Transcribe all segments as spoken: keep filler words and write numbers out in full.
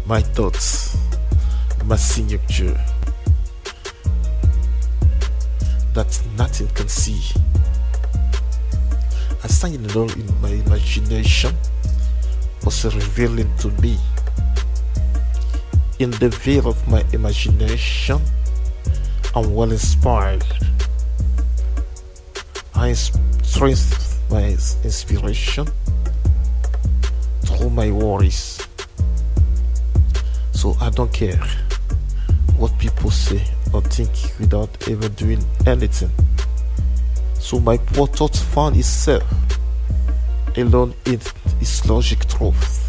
my thoughts, my signature that nothing can see. A sign alone in my imagination was revealing to me. In the veil of my imagination, I'm well inspired. I strengthen my inspiration through my worries. So I don't care what people say or think without ever doing anything. So my poor thought found itself alone in its logic truth.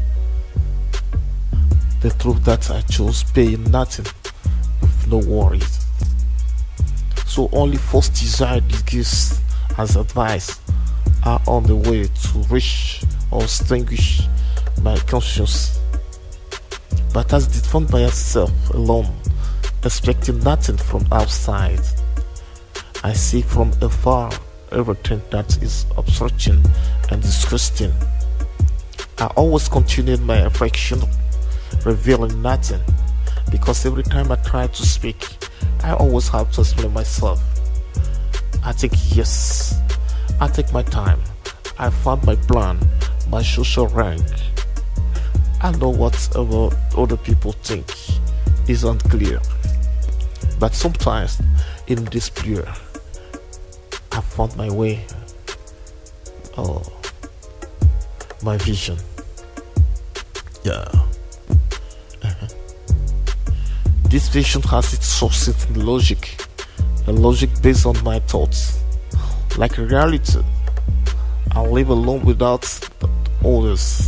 The truth that I chose paying nothing with no worries. So only false desire gives as advice are on the way to reach or extinguish my conscience. But as it found by itself alone, expecting nothing from outside, I see from afar everything that is obstructing and disgusting. I always continued my affection, revealing nothing, because every time I try to speak, I always have to explain myself. I think yes, I take my time. I found my plan, my social rank. I know whatever other people think is unclear, but sometimes in despair, I found my way. Oh, my vision. Yeah. Uh-huh. This vision has its sources in logic, a logic based on my thoughts, like reality. I live alone without others.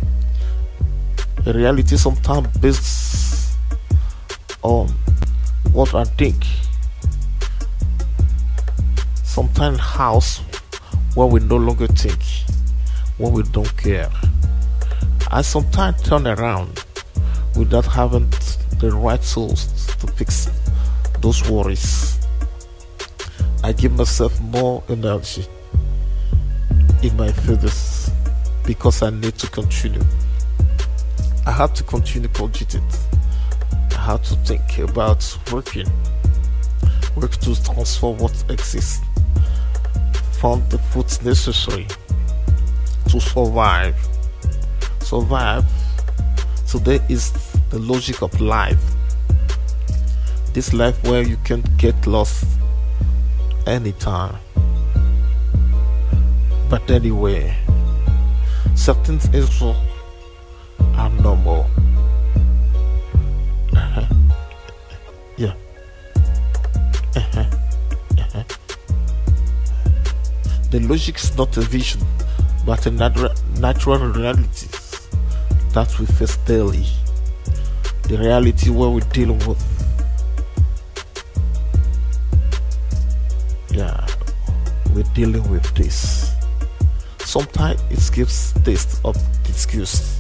A reality sometimes based on what I think. Sometimes house where we no longer think, when we don't care. I sometimes turn around without having the right tools to fix those worries. I give myself more energy in my feathers because I need to continue. I have to continue cogitate. I have to think about working, work to transform what exists, find the food necessary to survive. Survive today is the logic of life. This life where you can get lost anytime. But anyway, certain issues are normal. Uh-huh. Yeah. Uh-huh. Uh-huh. The logic is not a vision, but a nat- natural reality that we face daily. The reality where we deal with. Yeah, we're dealing with this. Sometimes it gives taste of disgust.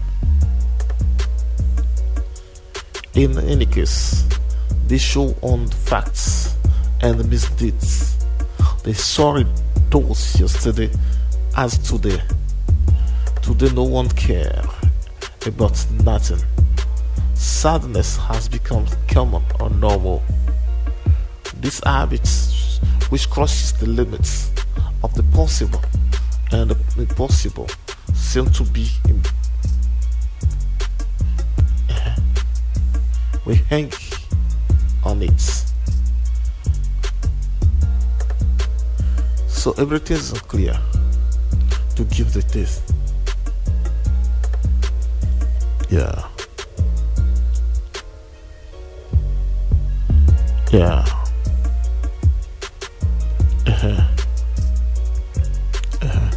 In any case, they show on the facts and the misdeeds. They sorry those yesterday as today. Today no one care about nothing. Sadness has become common or normal. This habit which crosses the limits of the possible and the impossible seem to be in, uh, we hang on it. So everything is unclear to give the taste. Yeah. Yeah. Uh-huh. Uh-huh.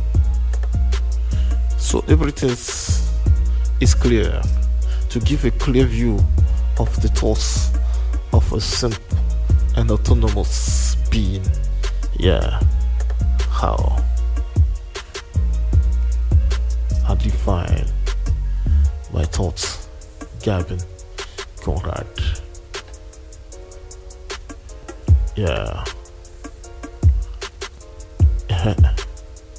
So everything is, is clear to give a clear view of the thoughts of a simple and autonomous being. Yeah. How I define my thoughts. Gavin Conrad. Yeah. Uh-huh.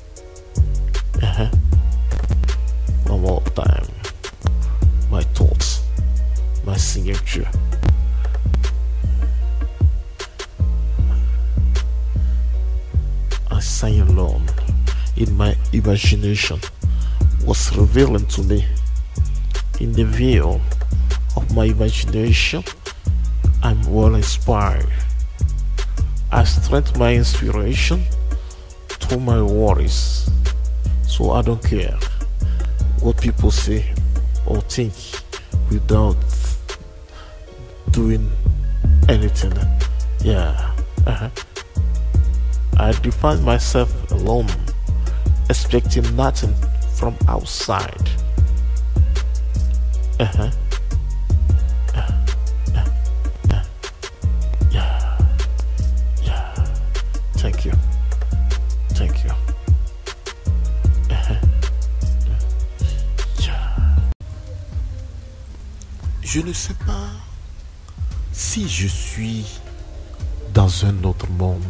Uh-huh. One more time. My thoughts. imagination was revealing to me. In the view of my imagination, I'm well inspired. I strengthen my inspiration through my worries, so I don't care what people say or think without doing anything. Yeah. Uh-huh. I define myself alone, expecting nothing from outside. Uh-huh. Uh, uh, uh, yeah. Yeah. Thank you. Thank you. Uh-huh. Yeah. Je ne sais pas si je suis dans un autre monde.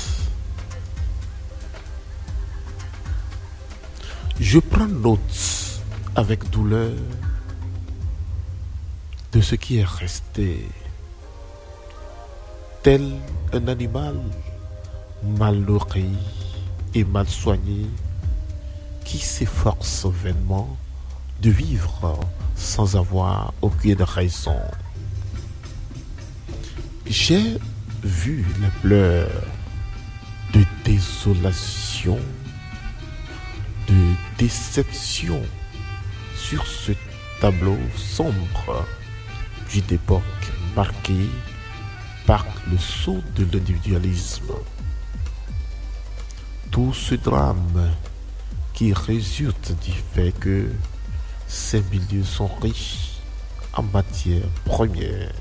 Je prends note avec douleur de ce qui est resté, tel un animal mal nourri et mal soigné qui s'efforce vainement de vivre sans avoir aucune raison. J'ai vu les pleurs de désolation, de déception sur ce tableau sombre d'une époque marquée par le saut de l'individualisme. Tout ce drame qui résulte du fait que ces milieux sont riches en matières premières.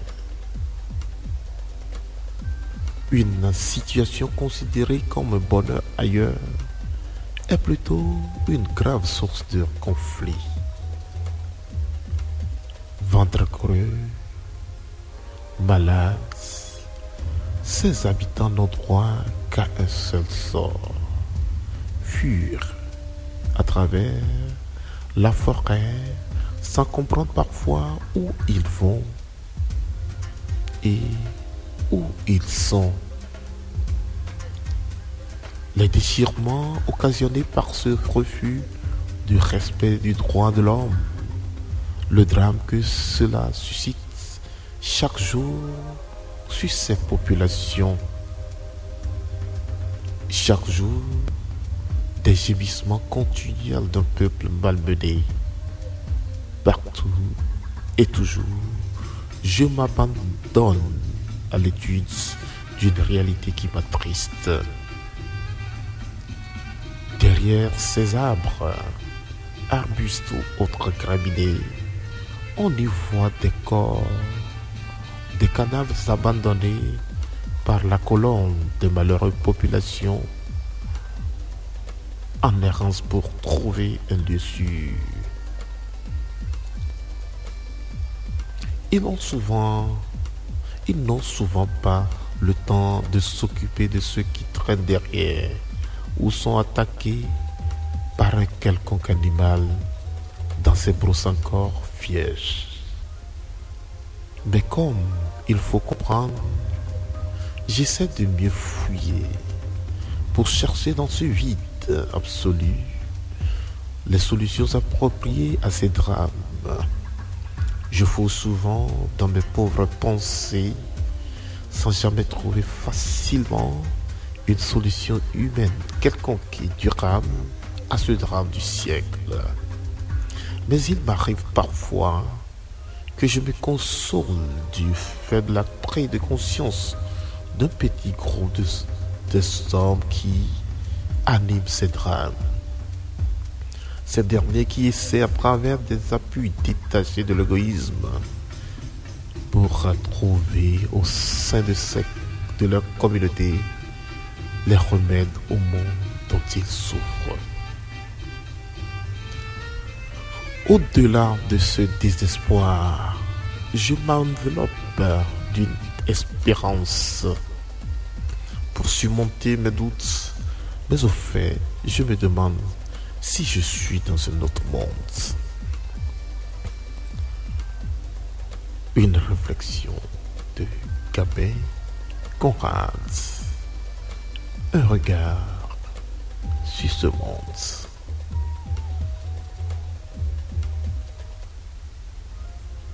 Une situation considérée comme un bonheur ailleurs est plutôt une grave source de conflit. Ventre creux, malades, ces habitants n'ont droit qu'à un seul sort, fuir à travers la forêt sans comprendre parfois où ils vont et où ils sont. Les déchirements occasionnés par ce refus du respect du droit de l'homme, le drame que cela suscite chaque jour sur ces populations, chaque jour des gémissements continuels d'un peuple malmené. Partout et toujours, je m'abandonne à l'étude d'une réalité qui m'attriste. Derrière ces arbres, arbustes ou autres graminées, on y voit des corps, des cadavres abandonnés par la colonne de malheureuses populations en errance pour trouver un lieu sûr. Ils n'ont souvent, ils n'ont souvent pas le temps de s'occuper de ceux qui traînent derrière ou sont attaqués par un quelconque animal dans ces brousses encore vierges. Mais comme il faut comprendre, j'essaie de mieux fouiller pour chercher dans ce vide absolu les solutions appropriées à ces drames. Je fouille souvent dans mes pauvres pensées sans jamais trouver facilement une solution humaine quelconque et durable à ce drame du siècle. Mais il m'arrive parfois que je me console du faible attrait de conscience d'un petit groupe de, de hommes qui animent ces drames. Ces derniers qui essaient à travers des appuis détachés de l'égoïsme pour trouver au sein de, ces, de leur communauté les remèdes au monde dont ils souffrent. Au-delà de ce désespoir, je m'enveloppe d'une espérance pour surmonter mes doutes, mais au fait, je me demande si je suis dans un autre monde. Une réflexion de Gabin Conrad. Un regard sur ce monde.